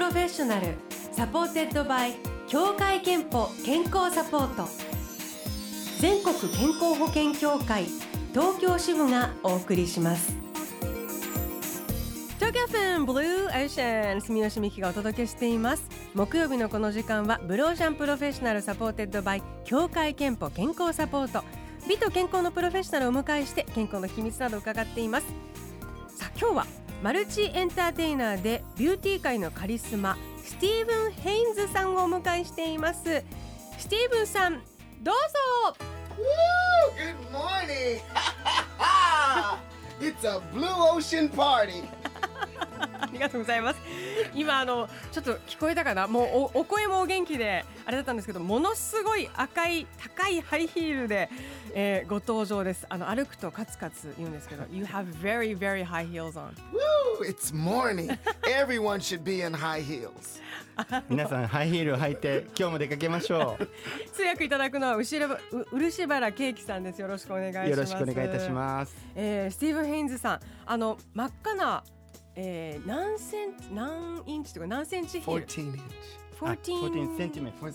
ロフェッショナルサポーテッドバイ協会憲法健康サポート、全国健康保険協会東京支部がお送りします。東京フェンブルーオーシャン、住吉美希がお届けしています。木曜日のこの時間はブルーオーシャンプロフェッショナルサポーテッドバイ協会憲法健康サポート、美と健康のプロフェッショナルをお迎えして健康の秘密などを伺っています。さあ、今日はマルチエンターテイナーでビューティー界のカリスマスティーブン・ヘインズさんをお迎えしています。スティーブンさん、どうぞ。 Good morning. It's a blue ocean party. ありがとうございます。今ちょっと聞こえたかな、もう お声もお元気であれだったんですけど、ものすごい赤い高いハイヒールで、ご登場です。歩くとカツカツ言うんですけどYou have very very high heels on. Woo! It's morning. Everyone should be in high heels. 皆さんハイヒールを履いて今日も出かけましょう。 通訳いただくのは漆原圭樹さんです。よろしくお願いします。 よろしくお願いいたします。 スティーブン・ヘインズさん、真っ赤な何インチとか何センチヒール 14 inch. 14センチメートル、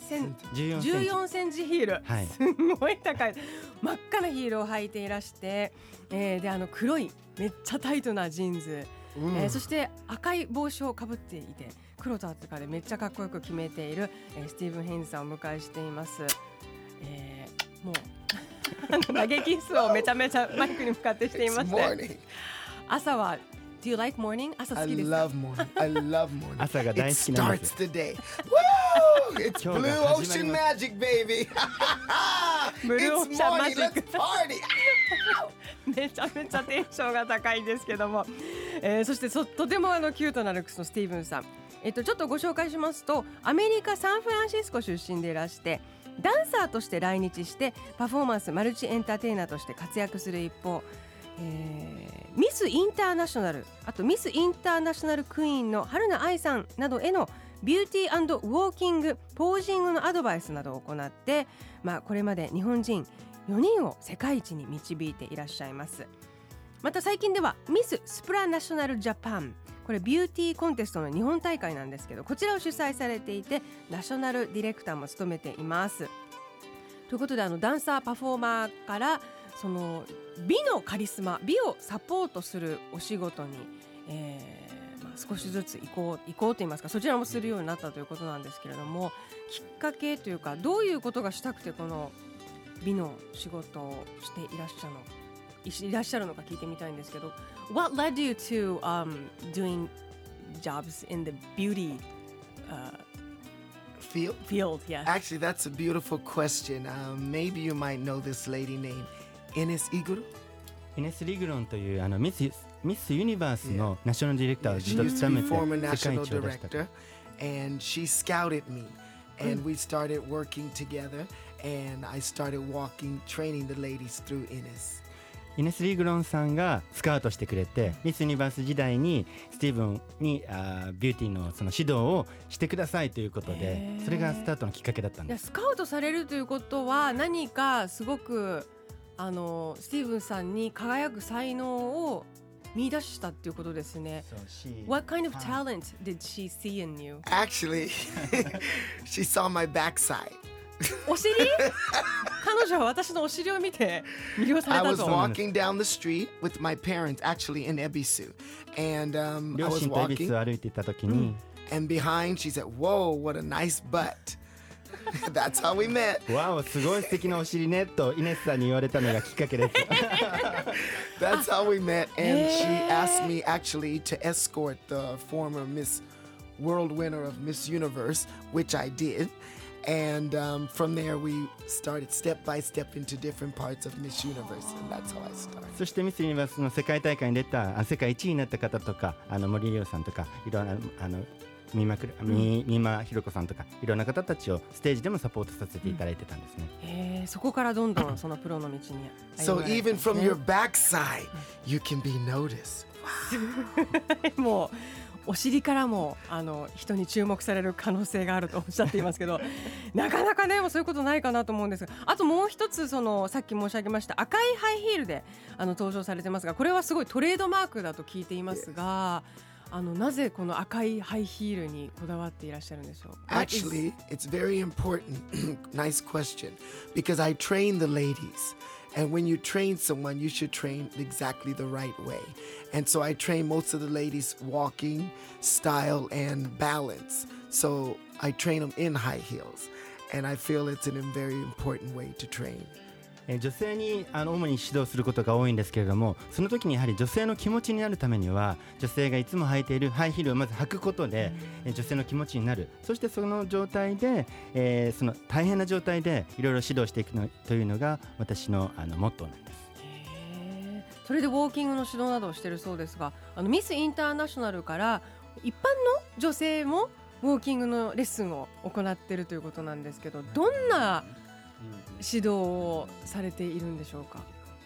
14センチヒール、 はい、 すごい高い真っ赤なヒールを履いていらして、で黒いめっちゃタイトなジーンズ、そして赤い帽子をかぶっていて黒と赤でめっちゃかっこよく決めている、スティーブン・ヘインズさんをお迎えしています。もう投げキッスをめちゃめちゃマイクに向かってしていまして、朝はDo you like morning? 朝好きですか？ I love morning. I love morning. 朝が大好きなんです。 It starts the day. Woo! It's blue ocean magic, baby. ブルーオーシャンマジック。 Let's party. めちゃめちゃテンションが高いんですけども、そしてとてもキュートなルックスのスティーブンさん、ちょっとご紹介しますと、アメリカサンフランシスコ出身でいらして、ダンサーとして来日してパフォーマンスマルチエンターテイナーとして活躍する一方、ミスインターナショナル、あとミスインターナショナルクイーンの春菜愛さんなどへのビューティー&ウォーキング、ポージングのアドバイスなどを行って、これまで日本人4人を世界一に導いていらっしゃいます。また最近ではミススプラナショナルジャパン、これビューティーコンテストの日本大会なんですけど、こちらを主催されていてナショナルディレクターも務めています。ということでダンサーパフォーマーからその美のカリスマ、美をサポートするお仕事に、少しずつ行こうと言いますか、そちらもするようになったということなんですけれども、きっかけというかどういうことがしたくてこの美の仕事をしていらっしゃるのか聞いてみたいんですけど、 What led you to doing jobs in the beauty field? Yes. Actually, that's a beautiful question. Maybe you might know this lady named Ines Iguru. イネス・リグロンというミスユニバースのナショナルディレクターをずっと務めて世界一を出した。 And she scouted me, and we started working together, and I started training the ladies through Ines. イネス・リグロンさんがスカウトしてくれて、ミスユニバース時代にスティーブンにビューティーのその指導をしてくださいということで、それがスタートのきっかけだったんです。 スカウトされるということは何かすごくスティーブンさんに輝く才能を見出したっていうことですね。What kind of talent did she see in you? Actually, she saw my backside. お尻？彼女は私のお尻を見て魅了され I た was と。 walking down the street with my parents, actually in Ebisu, and I 両 was 親と恵比寿 walking, を歩いていた時に、 and behind she said, "Whoa, what a nice butt." That's how we met. わお、すごい素敵なお尻ねとイネスさんに言われたのがきっかけです。 That's how we met, and she asked me actually to escort the former Miss World winner of Miss Universe, which I did. And from there we started step by step into different parts of Miss Universe, and that's how I started. そしてミスユニバースの世界大会に出た世界1位になった方とか、森亮さんとかいろんな三馬ひろ子さんとかいろんな方たちをステージでもサポートさせていただいてたんですね。 そこからどんどんそのプロの道に歩まれて、 So even from your backside, you can be noticed. もうお尻からも人に注目される可能性があるとおっしゃっていますけどなかなかねそういうことないかなと思うんですが、あともう一つさっき申し上げました赤いハイヒールで登場されてますが、これはすごいトレードマークだと聞いていますが、 なぜこの赤いハイヒールにこだわっていらっしゃるんでしょう。 Actually, it's very important. Nice question. Because I train the ladies. And when you train someone, you should train exactly the right way. And so I train most of the ladies walking, style, and balance. So I train them in high heels. And I feel it's a very important way to train. 女性に主に指導することが多いんですけれども、その時にやはり女性の気持ちになるためには、女性がいつも履いているハイヒールをまず履くことで、女性の気持ちになる。そしてその状態で、その大変な状態でいろいろ指導していくのというのが私のモットーなんです。 それでウォーキングの指導などをしているそうですが、ミスインターナショナルから一般の女性もウォーキングのレッスンを行っているということなんですけど、どんな指導をされているんでしょうか。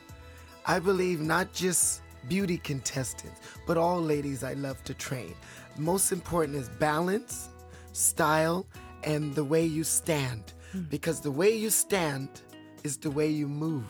I believe not just beauty contestants, but all ladies I love to train. Most important is balance, style, and the way you stand. Because the way you stand is the way you move.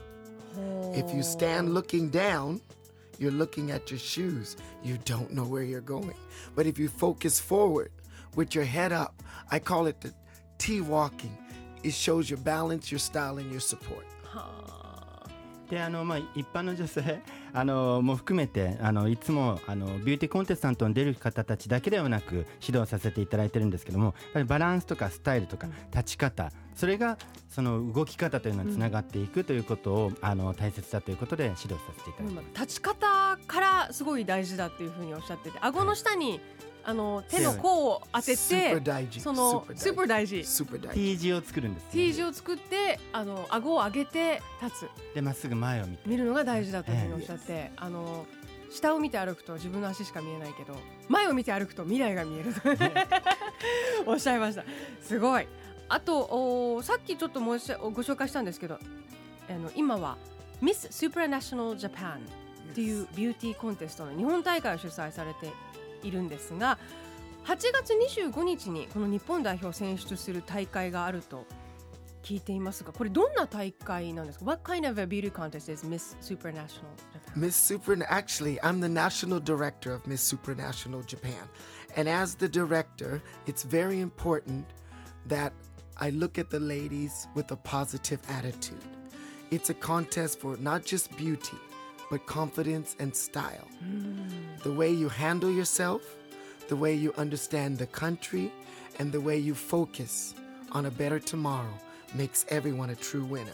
If you stand looking down, you're looking at your shoes. You don't know where you're going. But if you focus forward with your head up, I call it the T walking. It shows your balance, your style, and your support. で一般の女性も含めていつもビューティーコンテスタントに出る方たちだけではなく指導させていただいてるんですけども、やっぱりバランスとかスタイルとか立ち方、それがその動き方というのにつながっていくということを大切だということで指導させていただいてます。 立ち方からすごい大事だっていうふうにおっしゃってて、顎の下に手の甲を当てて、スーパー大事。 T 字を作るんです、ね、 T 字を作って顎を上げて立つでまっすぐ前を見るのが大事だというふうにおっしゃって、下を見て歩くと自分の足しか見えないけど、前を見て歩くと未来が見えるとおっしゃいました。すごい。あとさっきちょっとご紹介したんですけど、今はミス・スーパーナショナル・ジャパンっていうビューティーコンテストの日本大会を主催されているんですが、8月25日にこの日本代表を選出する大会があると聞いていますが、これどんな大会なんですか？ What kind of a beauty contest is Miss Supranational Japan? Actually, I'm the national director of Miss Supranational Japan. And as the director, it's very important that I look at the ladies with a positive attitude. It's a contest for not just beauty, but confidence and style. The way you handle yourself, the way you understand the country, and the way you focus on a better tomorrow makes everyone a true winner.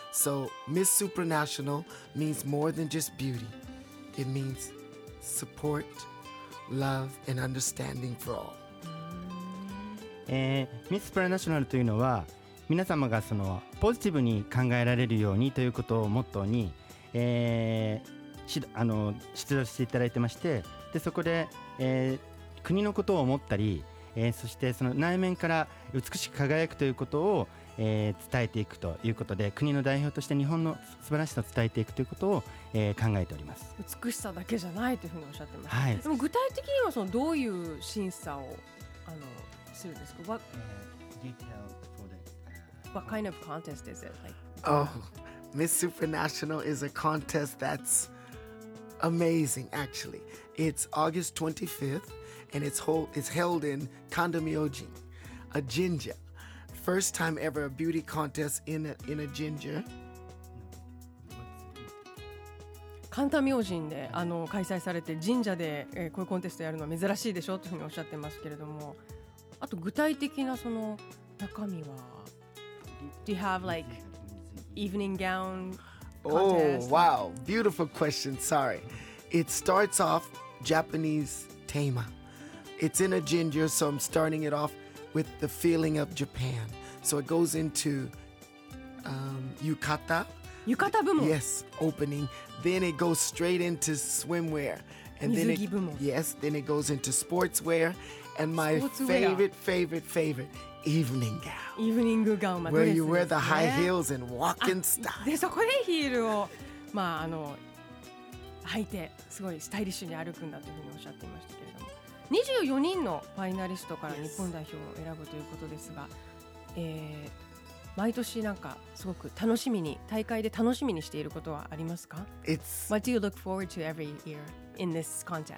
So Miss Supranational means more than just beauty. It means support, love, and understanding for all. ミススプラナショナルというのは皆様がそのポジティブに考えられるようにということをモットーに、出場していただいてまして、でそこで、国のことを思ったり、そしてその内面から美しく輝くということを、伝えていくということで、国の代表として日本の素晴らしさを伝えていくということを、考えております。 美しさだけじゃないというふうにおっしゃってます、 はい、 でも具体的にはそのどういう審査をするんですか？ What kind of contest is it? Miss Supranational is a contest that's amazing, actually. It's August 25th, and it's held in Kandamyojin, a jinja. First time ever a beauty contest in a jinja. 神田明神で開催されて、神社で、こういうコンテストやるのは珍しいでしょというふうにおっしゃってますけれども、あと具体的なその中身は Do you have like evening gown contest? Oh, wow. Beautiful question. Sorry. It starts off Japanese tema. It's in a ginger, so I'm starting it off with the feeling of Japan. So it goes into yukata. Yukata 部門。 Yes, opening. Then it goes straight into swimwear. And then Mizugi 部門。 yes, then it goes into sportswear. And my Sportswear. favorite evening gown. イブニングガウン、 Where you wear the high heels and walk in style. でそこでヒールを履いてすごいスタイリッシュに歩くんだというふうにおっしゃっていましたけれども、24人のファイナリストから日本代表を選ぶということですが、毎年なんかすごく楽しみに、大会で楽しみにしていることはありますか？ It's What do you look forward to every year in this contest?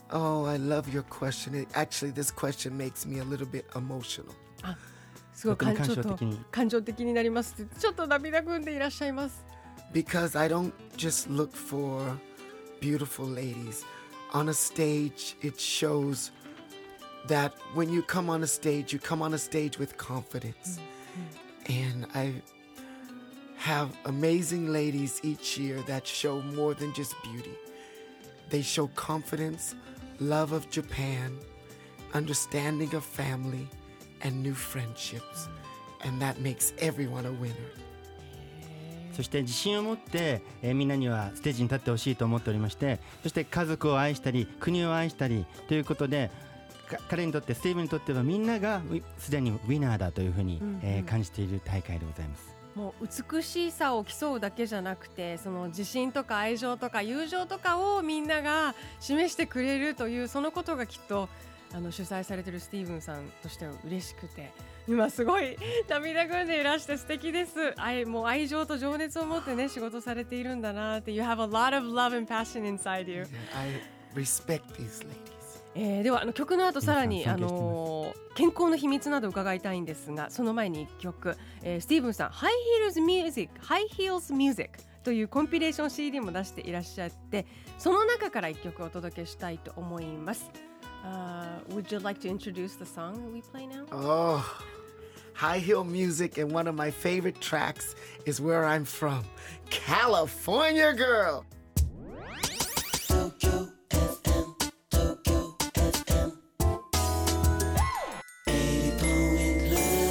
Oh, I love your question. Actually, this question makes me a little bit emotional. すごいとても感情的になりますってちょっと涙ぐんでいらっしゃいます。 Because I don't just look for beautiful ladies. On a stage, it shows that when you come on a stage, you come on a stage with confidence. And I have amazing ladies each year that show more than just beauty. They show confidence, love of Japan, understanding of family, and new friendships. And that makes everyone a winner. そして自信を持って、みんなにはステージに立ってほしいと思っておりまして、そして家族を愛したり国を愛したりということで、彼にとってスティーブンにとってはみんながすでにウィナーだというふうに、感じている大会でございます。 もう美しさを競うだけじゃなくて、その自信とか愛情とか友情とかをみんなが示してくれるという、そのことがきっと主催されているスティーブンさんとしては嬉しくて、今すごい涙ぐんでいらして素敵です。もう愛情と情熱を持ってね仕事されているんだなって。 You have a lot of love and passion inside you. I respect these ladies. では曲の後さらに皆さん尊敬してます健康の秘密など伺いたいんですが、その前に1曲、スティーブンさん High Heels Music というコンピレーション CD も出していらっしゃって、その中から1曲お届けしたいと思います。Would you like to introduce the song we play now? Oh, high heel music, and one of my favorite tracks is Where I'm From, California Girl. Tokyo FM, Tokyo FM, 80.9.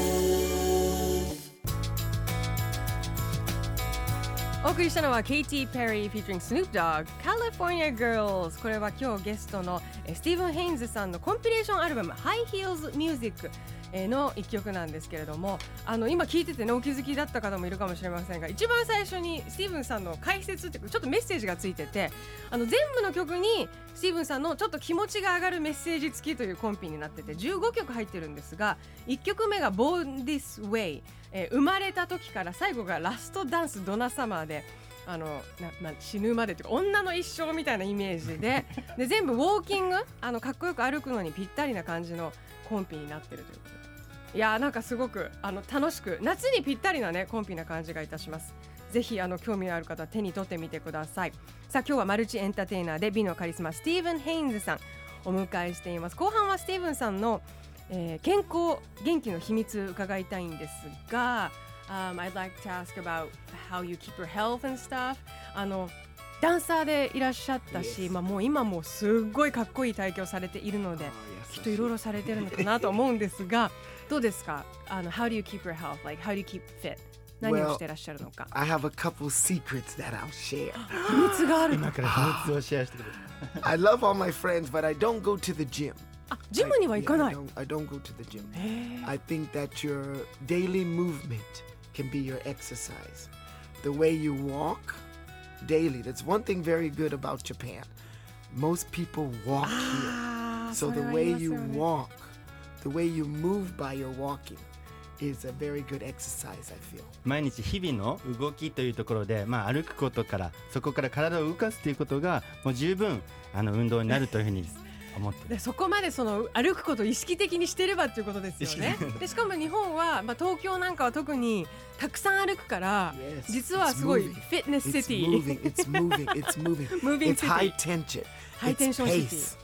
お送りしたのは Katy Perry featuring Snoop Dogg California Girls。 これは今日ゲストのスティーブン・ヘインズさんのコンピレーションアルバム High Heels Musicの一曲なんですけれども、今聞いててねお気づきだった方もいるかもしれませんが、一番最初にスティーブンさんの解説っていうかちょっとメッセージがついてて、全部の曲にスティーブンさんのちょっと気持ちが上がるメッセージ付きというコンピになってて15曲入ってるんですが、1曲目が Born This Way、生まれた時から最後がラストダンスドナサマーで、死ぬまでというか女の一生みたいなイメージで全部ウォーキングかっこよく歩くのにぴったりな感じのコンピになってるということで、いやーなんかすごく楽しく夏にぴったりなねコンピな感じがいたします。ぜひ興味のある方は手に取ってみてください。さあ今日はマルチエンターテイナーで美のカリスマスティーブン・ヘインズさんお迎えしています。後半はスティーブンさんの、健康元気の秘密伺いたいんですが、I'd like to ask about how you keep your health and stuff. ダンサーでいらっしゃったし、もう今もすっごいかっこいい体型をされているので、きっといろいろされてるのかなと思うんですが、どうですか？How do you keep your health? Like, how do you keep fit? 何をしてらっしゃるのか。 I have a couple secrets that I'll share. 秘密がある。 今から秘密をシェアしてくれる。 I love all my friends, but I don't go to the gym. ジムには行かない。 I don't go to the gym. I think that your daily movement can be your exercise. The way you walk daily. That's one thing very good about Japan. Most people walk here. So the way you walk, the way you move by your walking is a very good exercise, I feel. 毎日日々の動きというところで、歩くことからそこから体を動かすということがもう十分運動になるというふうに思ってでそこまで歩くことを意識的にしてればということですよね。でしかも日本は、東京なんかは特にたくさん歩くから、 Yes, 実はすごいフィットネスシティ It's moving. It's moving. Moving It's city. high tension. ハイテンションシテ It's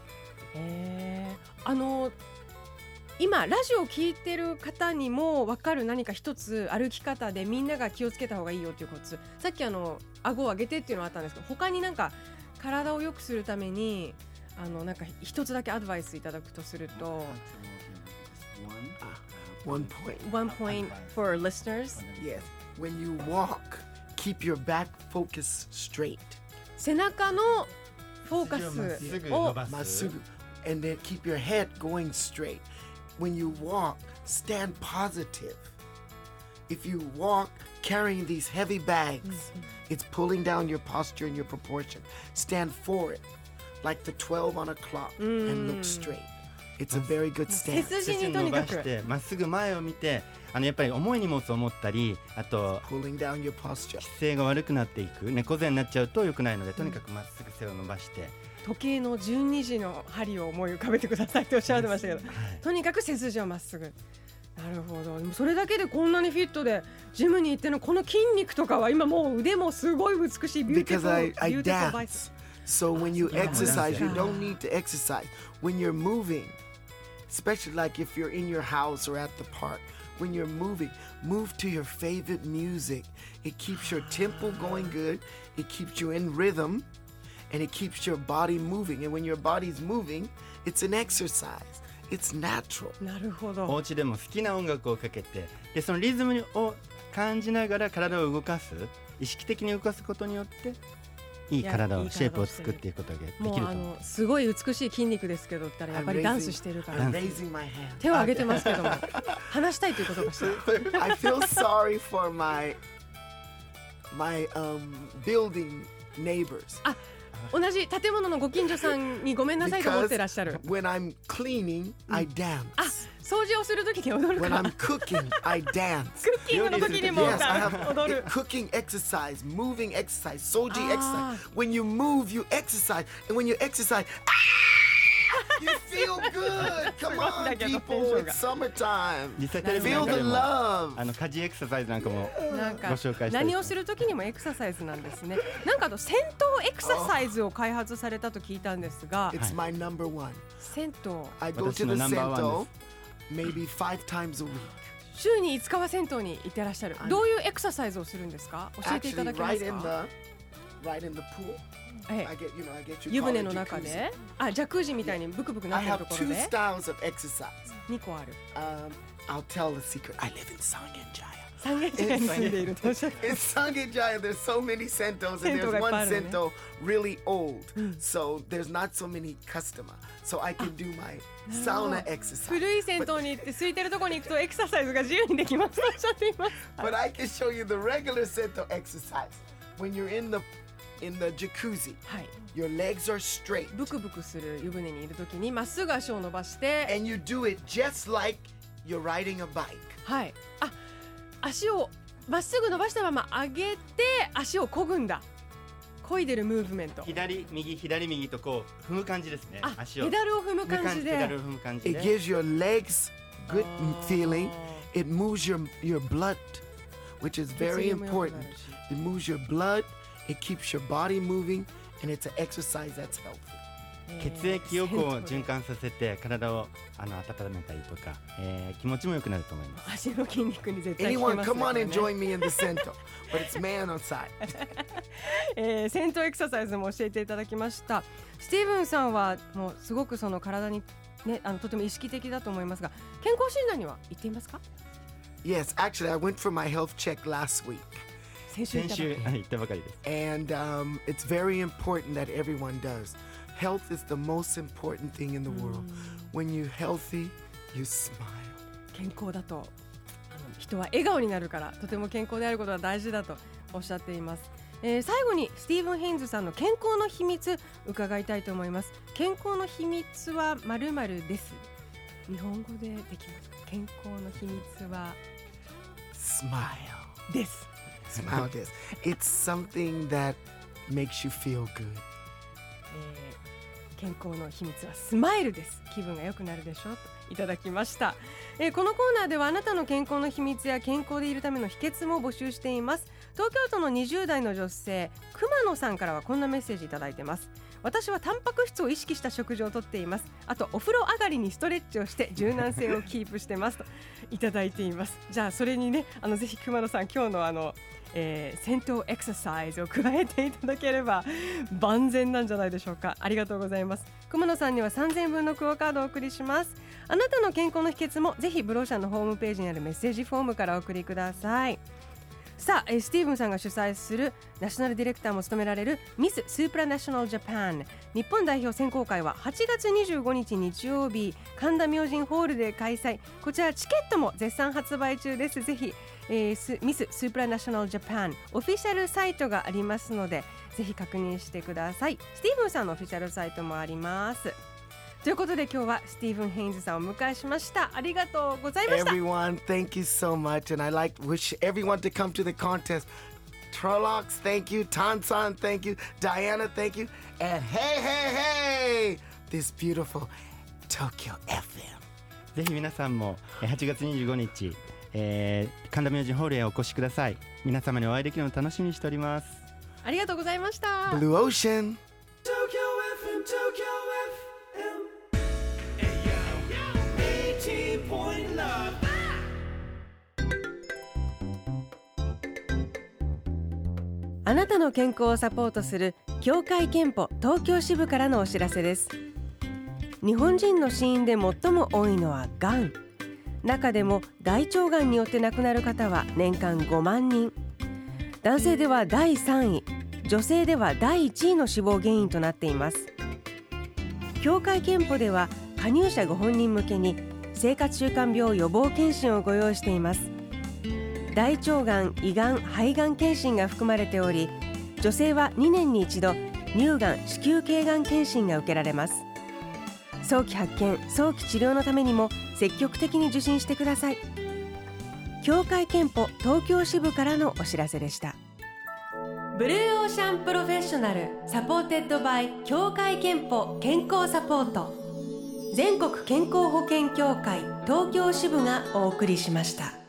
ィ。今ラジオを聞いてる方にも分かる何か一つ歩き方でみんなが気をつけた方がいいよということです。さっき顎を上げてっていうのはあったんですけど、他になんか体を良くするためになんか一つだけアドバイスいただくとすると、 one point. One point for listeners. Yes. When you walk, keep your back focus straight. 背中のフォーカスをまっすぐ and then keep your head going straight. When you walk, stand positive. If you walk carrying these heavy bags, it's pulling down your posture and your proportion. Stand forward like the 12 on a clock and look straight. It's a very good 背 stance. 筋背筋伸ばにとにかくしてまっすぐ前を見て、やっぱり重い荷物を持ったり、あと Pulling down your posture. 姿勢が悪くなっていく、猫背になっちゃうと良くないので、とにかくまっすぐ背を伸ばして時計の12時の針を思い浮かべてくださいっておっしゃってましたけど、とにかく背筋をまっすぐ。なるほど。でもそれだけでこんなにフィットでジムに行ってのこの筋肉とかは今もう腕もすごい美しいビューティ Because フル I ビューティフルバイス dance. So when you Yeah, exercise, you dance. don't need to exercise. When you're moving, especially like if you're in your house or at the park, when you're moving, move to your favorite music. It keeps your tempo going good. It keeps you in rhythm, and it keeps your body moving. And when your body's moving, it's an exercise. It's natural. なるほおど。 家でも好きな音楽をかけて、でそのリズムを感じながら体を動かす、意識的に動かすことによっていい体をいやいい体をシェイプを作っていくことができるもうと思う。 すごい美しい筋肉ですけどって言ったらやっぱりダンスしてるから I'm raising my hand. 手を挙げてますけども話したいということかしら。 I feel sorry for my building neighbors. 同じ建物のご近所さんにごめんなさいと思ってらっしゃる。 when I'm cleaning, I dance. 掃除をするときに踊る When か I'm cooking, I dance. クッキングの時にも Yes, I have 踊る。 cooking exercise, moving exercise, soji Ah. exercise. When you move, you exercise. And when you exercise, you feel good. Come on, people. It's summertime. 実際テレビの Feel 中 the でも love. 家事エクササイズなんかもなんかご紹介したり何をするときにもエクササイズなんですね。なんか銭湯エクササイズを開発されたと聞いたんですが、 It's my number one. 銭湯 I go to 私の the ナンバーワン sento maybe 5 times a week. 週に5日は銭湯に行ってらっしゃる。どういうエクササイズをするんですか？教えていた Actually, だけま right す in か？ the pool. ええ I get you 湯船 call の it 中 jacuzzi. で、ジャクージみたいにブクブクな I ってる have ところ two で styles of exercise. 2個ある。 I'll tell the secret. I live in Sangenjaya. 三軒茶屋に住んでいるとおっしゃって In Sangenjaya, there's so many sentos, and Sento there's がいっ one ぱいあるね。 sento really old, so there's not so many customers. So I can do my sauna exercise. 古い銭湯に行って空いてるところに行くとエクササイズが自由にできますとおっしゃっています。 But I can show you the regular sento exercise. When you're in the jacuzzi, はい。 your legs are straight, ブクブクする湯船にいるときにまっすぐ足を伸ばして、 and you do it just like you're riding a bike. はい。足をまっすぐ伸ばしたまま上げて足を漕ぐんだ。漕いでるムーブメント。 左右左右とこう踏む感じですね。足をペダルを踏む感じで。 ペダルを踏む感じ It で gives your legs good feeling. It moves your blood, which is very 血流も良くな important. るし It moves your blood. It keeps your body moving, and it's an exercise that's healthy. 血液をこう循環させて体を温めたりとか、気持ちも良くなると思います。 足の筋肉に絶対効き Anyone, ますね。 come on これ and ね join me in the center. But it's man on side. 銭湯エクササイズも教えていただきました。スティーブンさんはもうすごくその体にね、とても意識的だと思いますが、健康診断には行っていますか？ Yes, actually, I went for my health check last week. 先週行ったばかり先週言ったばかりです。 And it's very important that everyone does. Health is the most important thing in the world. When you're healthy, you smile. 健康だと人は笑顔になるからとても健康であることは大事だとおっしゃっています。最後にスティーブン・ヘインズさんの健康の秘密伺いたいと思います。健康の秘密は〇〇です。日本語でできますか？健康の秘密は Smile. です。 Smile this. It's something that makes you feel good. 健康の秘密はスマイルです。気分が良くなるでしょうといただきました。このコーナーではあなたの健康の秘密や健康でいるための秘訣も募集しています。東京都の20代の女性熊野さんからはこんなメッセージいただいてます。私はタンパク質を意識した食事をとっています。あとお風呂上がりにストレッチをして柔軟性をキープしてますといただいています。じゃあそれにね、ぜひ熊野さん今日の銭湯エクササイズを加えていただければ万全なんじゃないでしょうか。ありがとうございます。熊野さんには3000分のクオカードをお送りします。あなたの健康の秘訣もぜひブローシャンのホームページにあるメッセージフォームからお送りください。さあ、スティーブンさんが主催するナショナルディレクターも務められるミススープラナショナルジャパン日本代表選考会は8月25日日曜日神田明神ホールで開催。こちらチケットも絶賛発売中です。ぜひミススープラナショナルジャパンオフィシャルサイトがありますのでぜひ確認してください。スティーブンさんのオフィシャルサイトもあります。ということで今日はスティーブン・ヘインズさんをお迎えしました。ありがとうございました。 Everyone, thank you so much. And I wish everyone to come to the contest. Turlox, thank you. Tansan, thank you. Diana, thank you. And hey, this beautiful Tokyo FM. ぜひ皆さんも8月25日、神田明神ホールへお越しください。皆様にお会いできるのを楽しみにしております。 ありがとうございました。 Blue Ocean. Tokyo FM, Tokyo FM. Hey yo, 18-point love. あなたの健康をサポートする協会憲法東京支部からのお知らせです。日本人の死因で最も多いのはがん。中でも大腸がんによって亡くなる方は年間5万人。男性では第3位、女性では第1位の死亡原因となっています。協会憲法では加入者ご本人向けに生活習慣病予防検診をご用意しています。大腸がん、胃がん、肺がん検診が含まれており、女性は2年に一度乳がん、子宮頸がん検診が受けられます。早期発見、早期治療のためにも積極的に受診してください。協会憲法東京支部からのお知らせでした。ブルーオーシャンプロフェッショナルサポーテッドバイ協会憲法健康サポート、全国健康保険協会東京支部がお送りしました。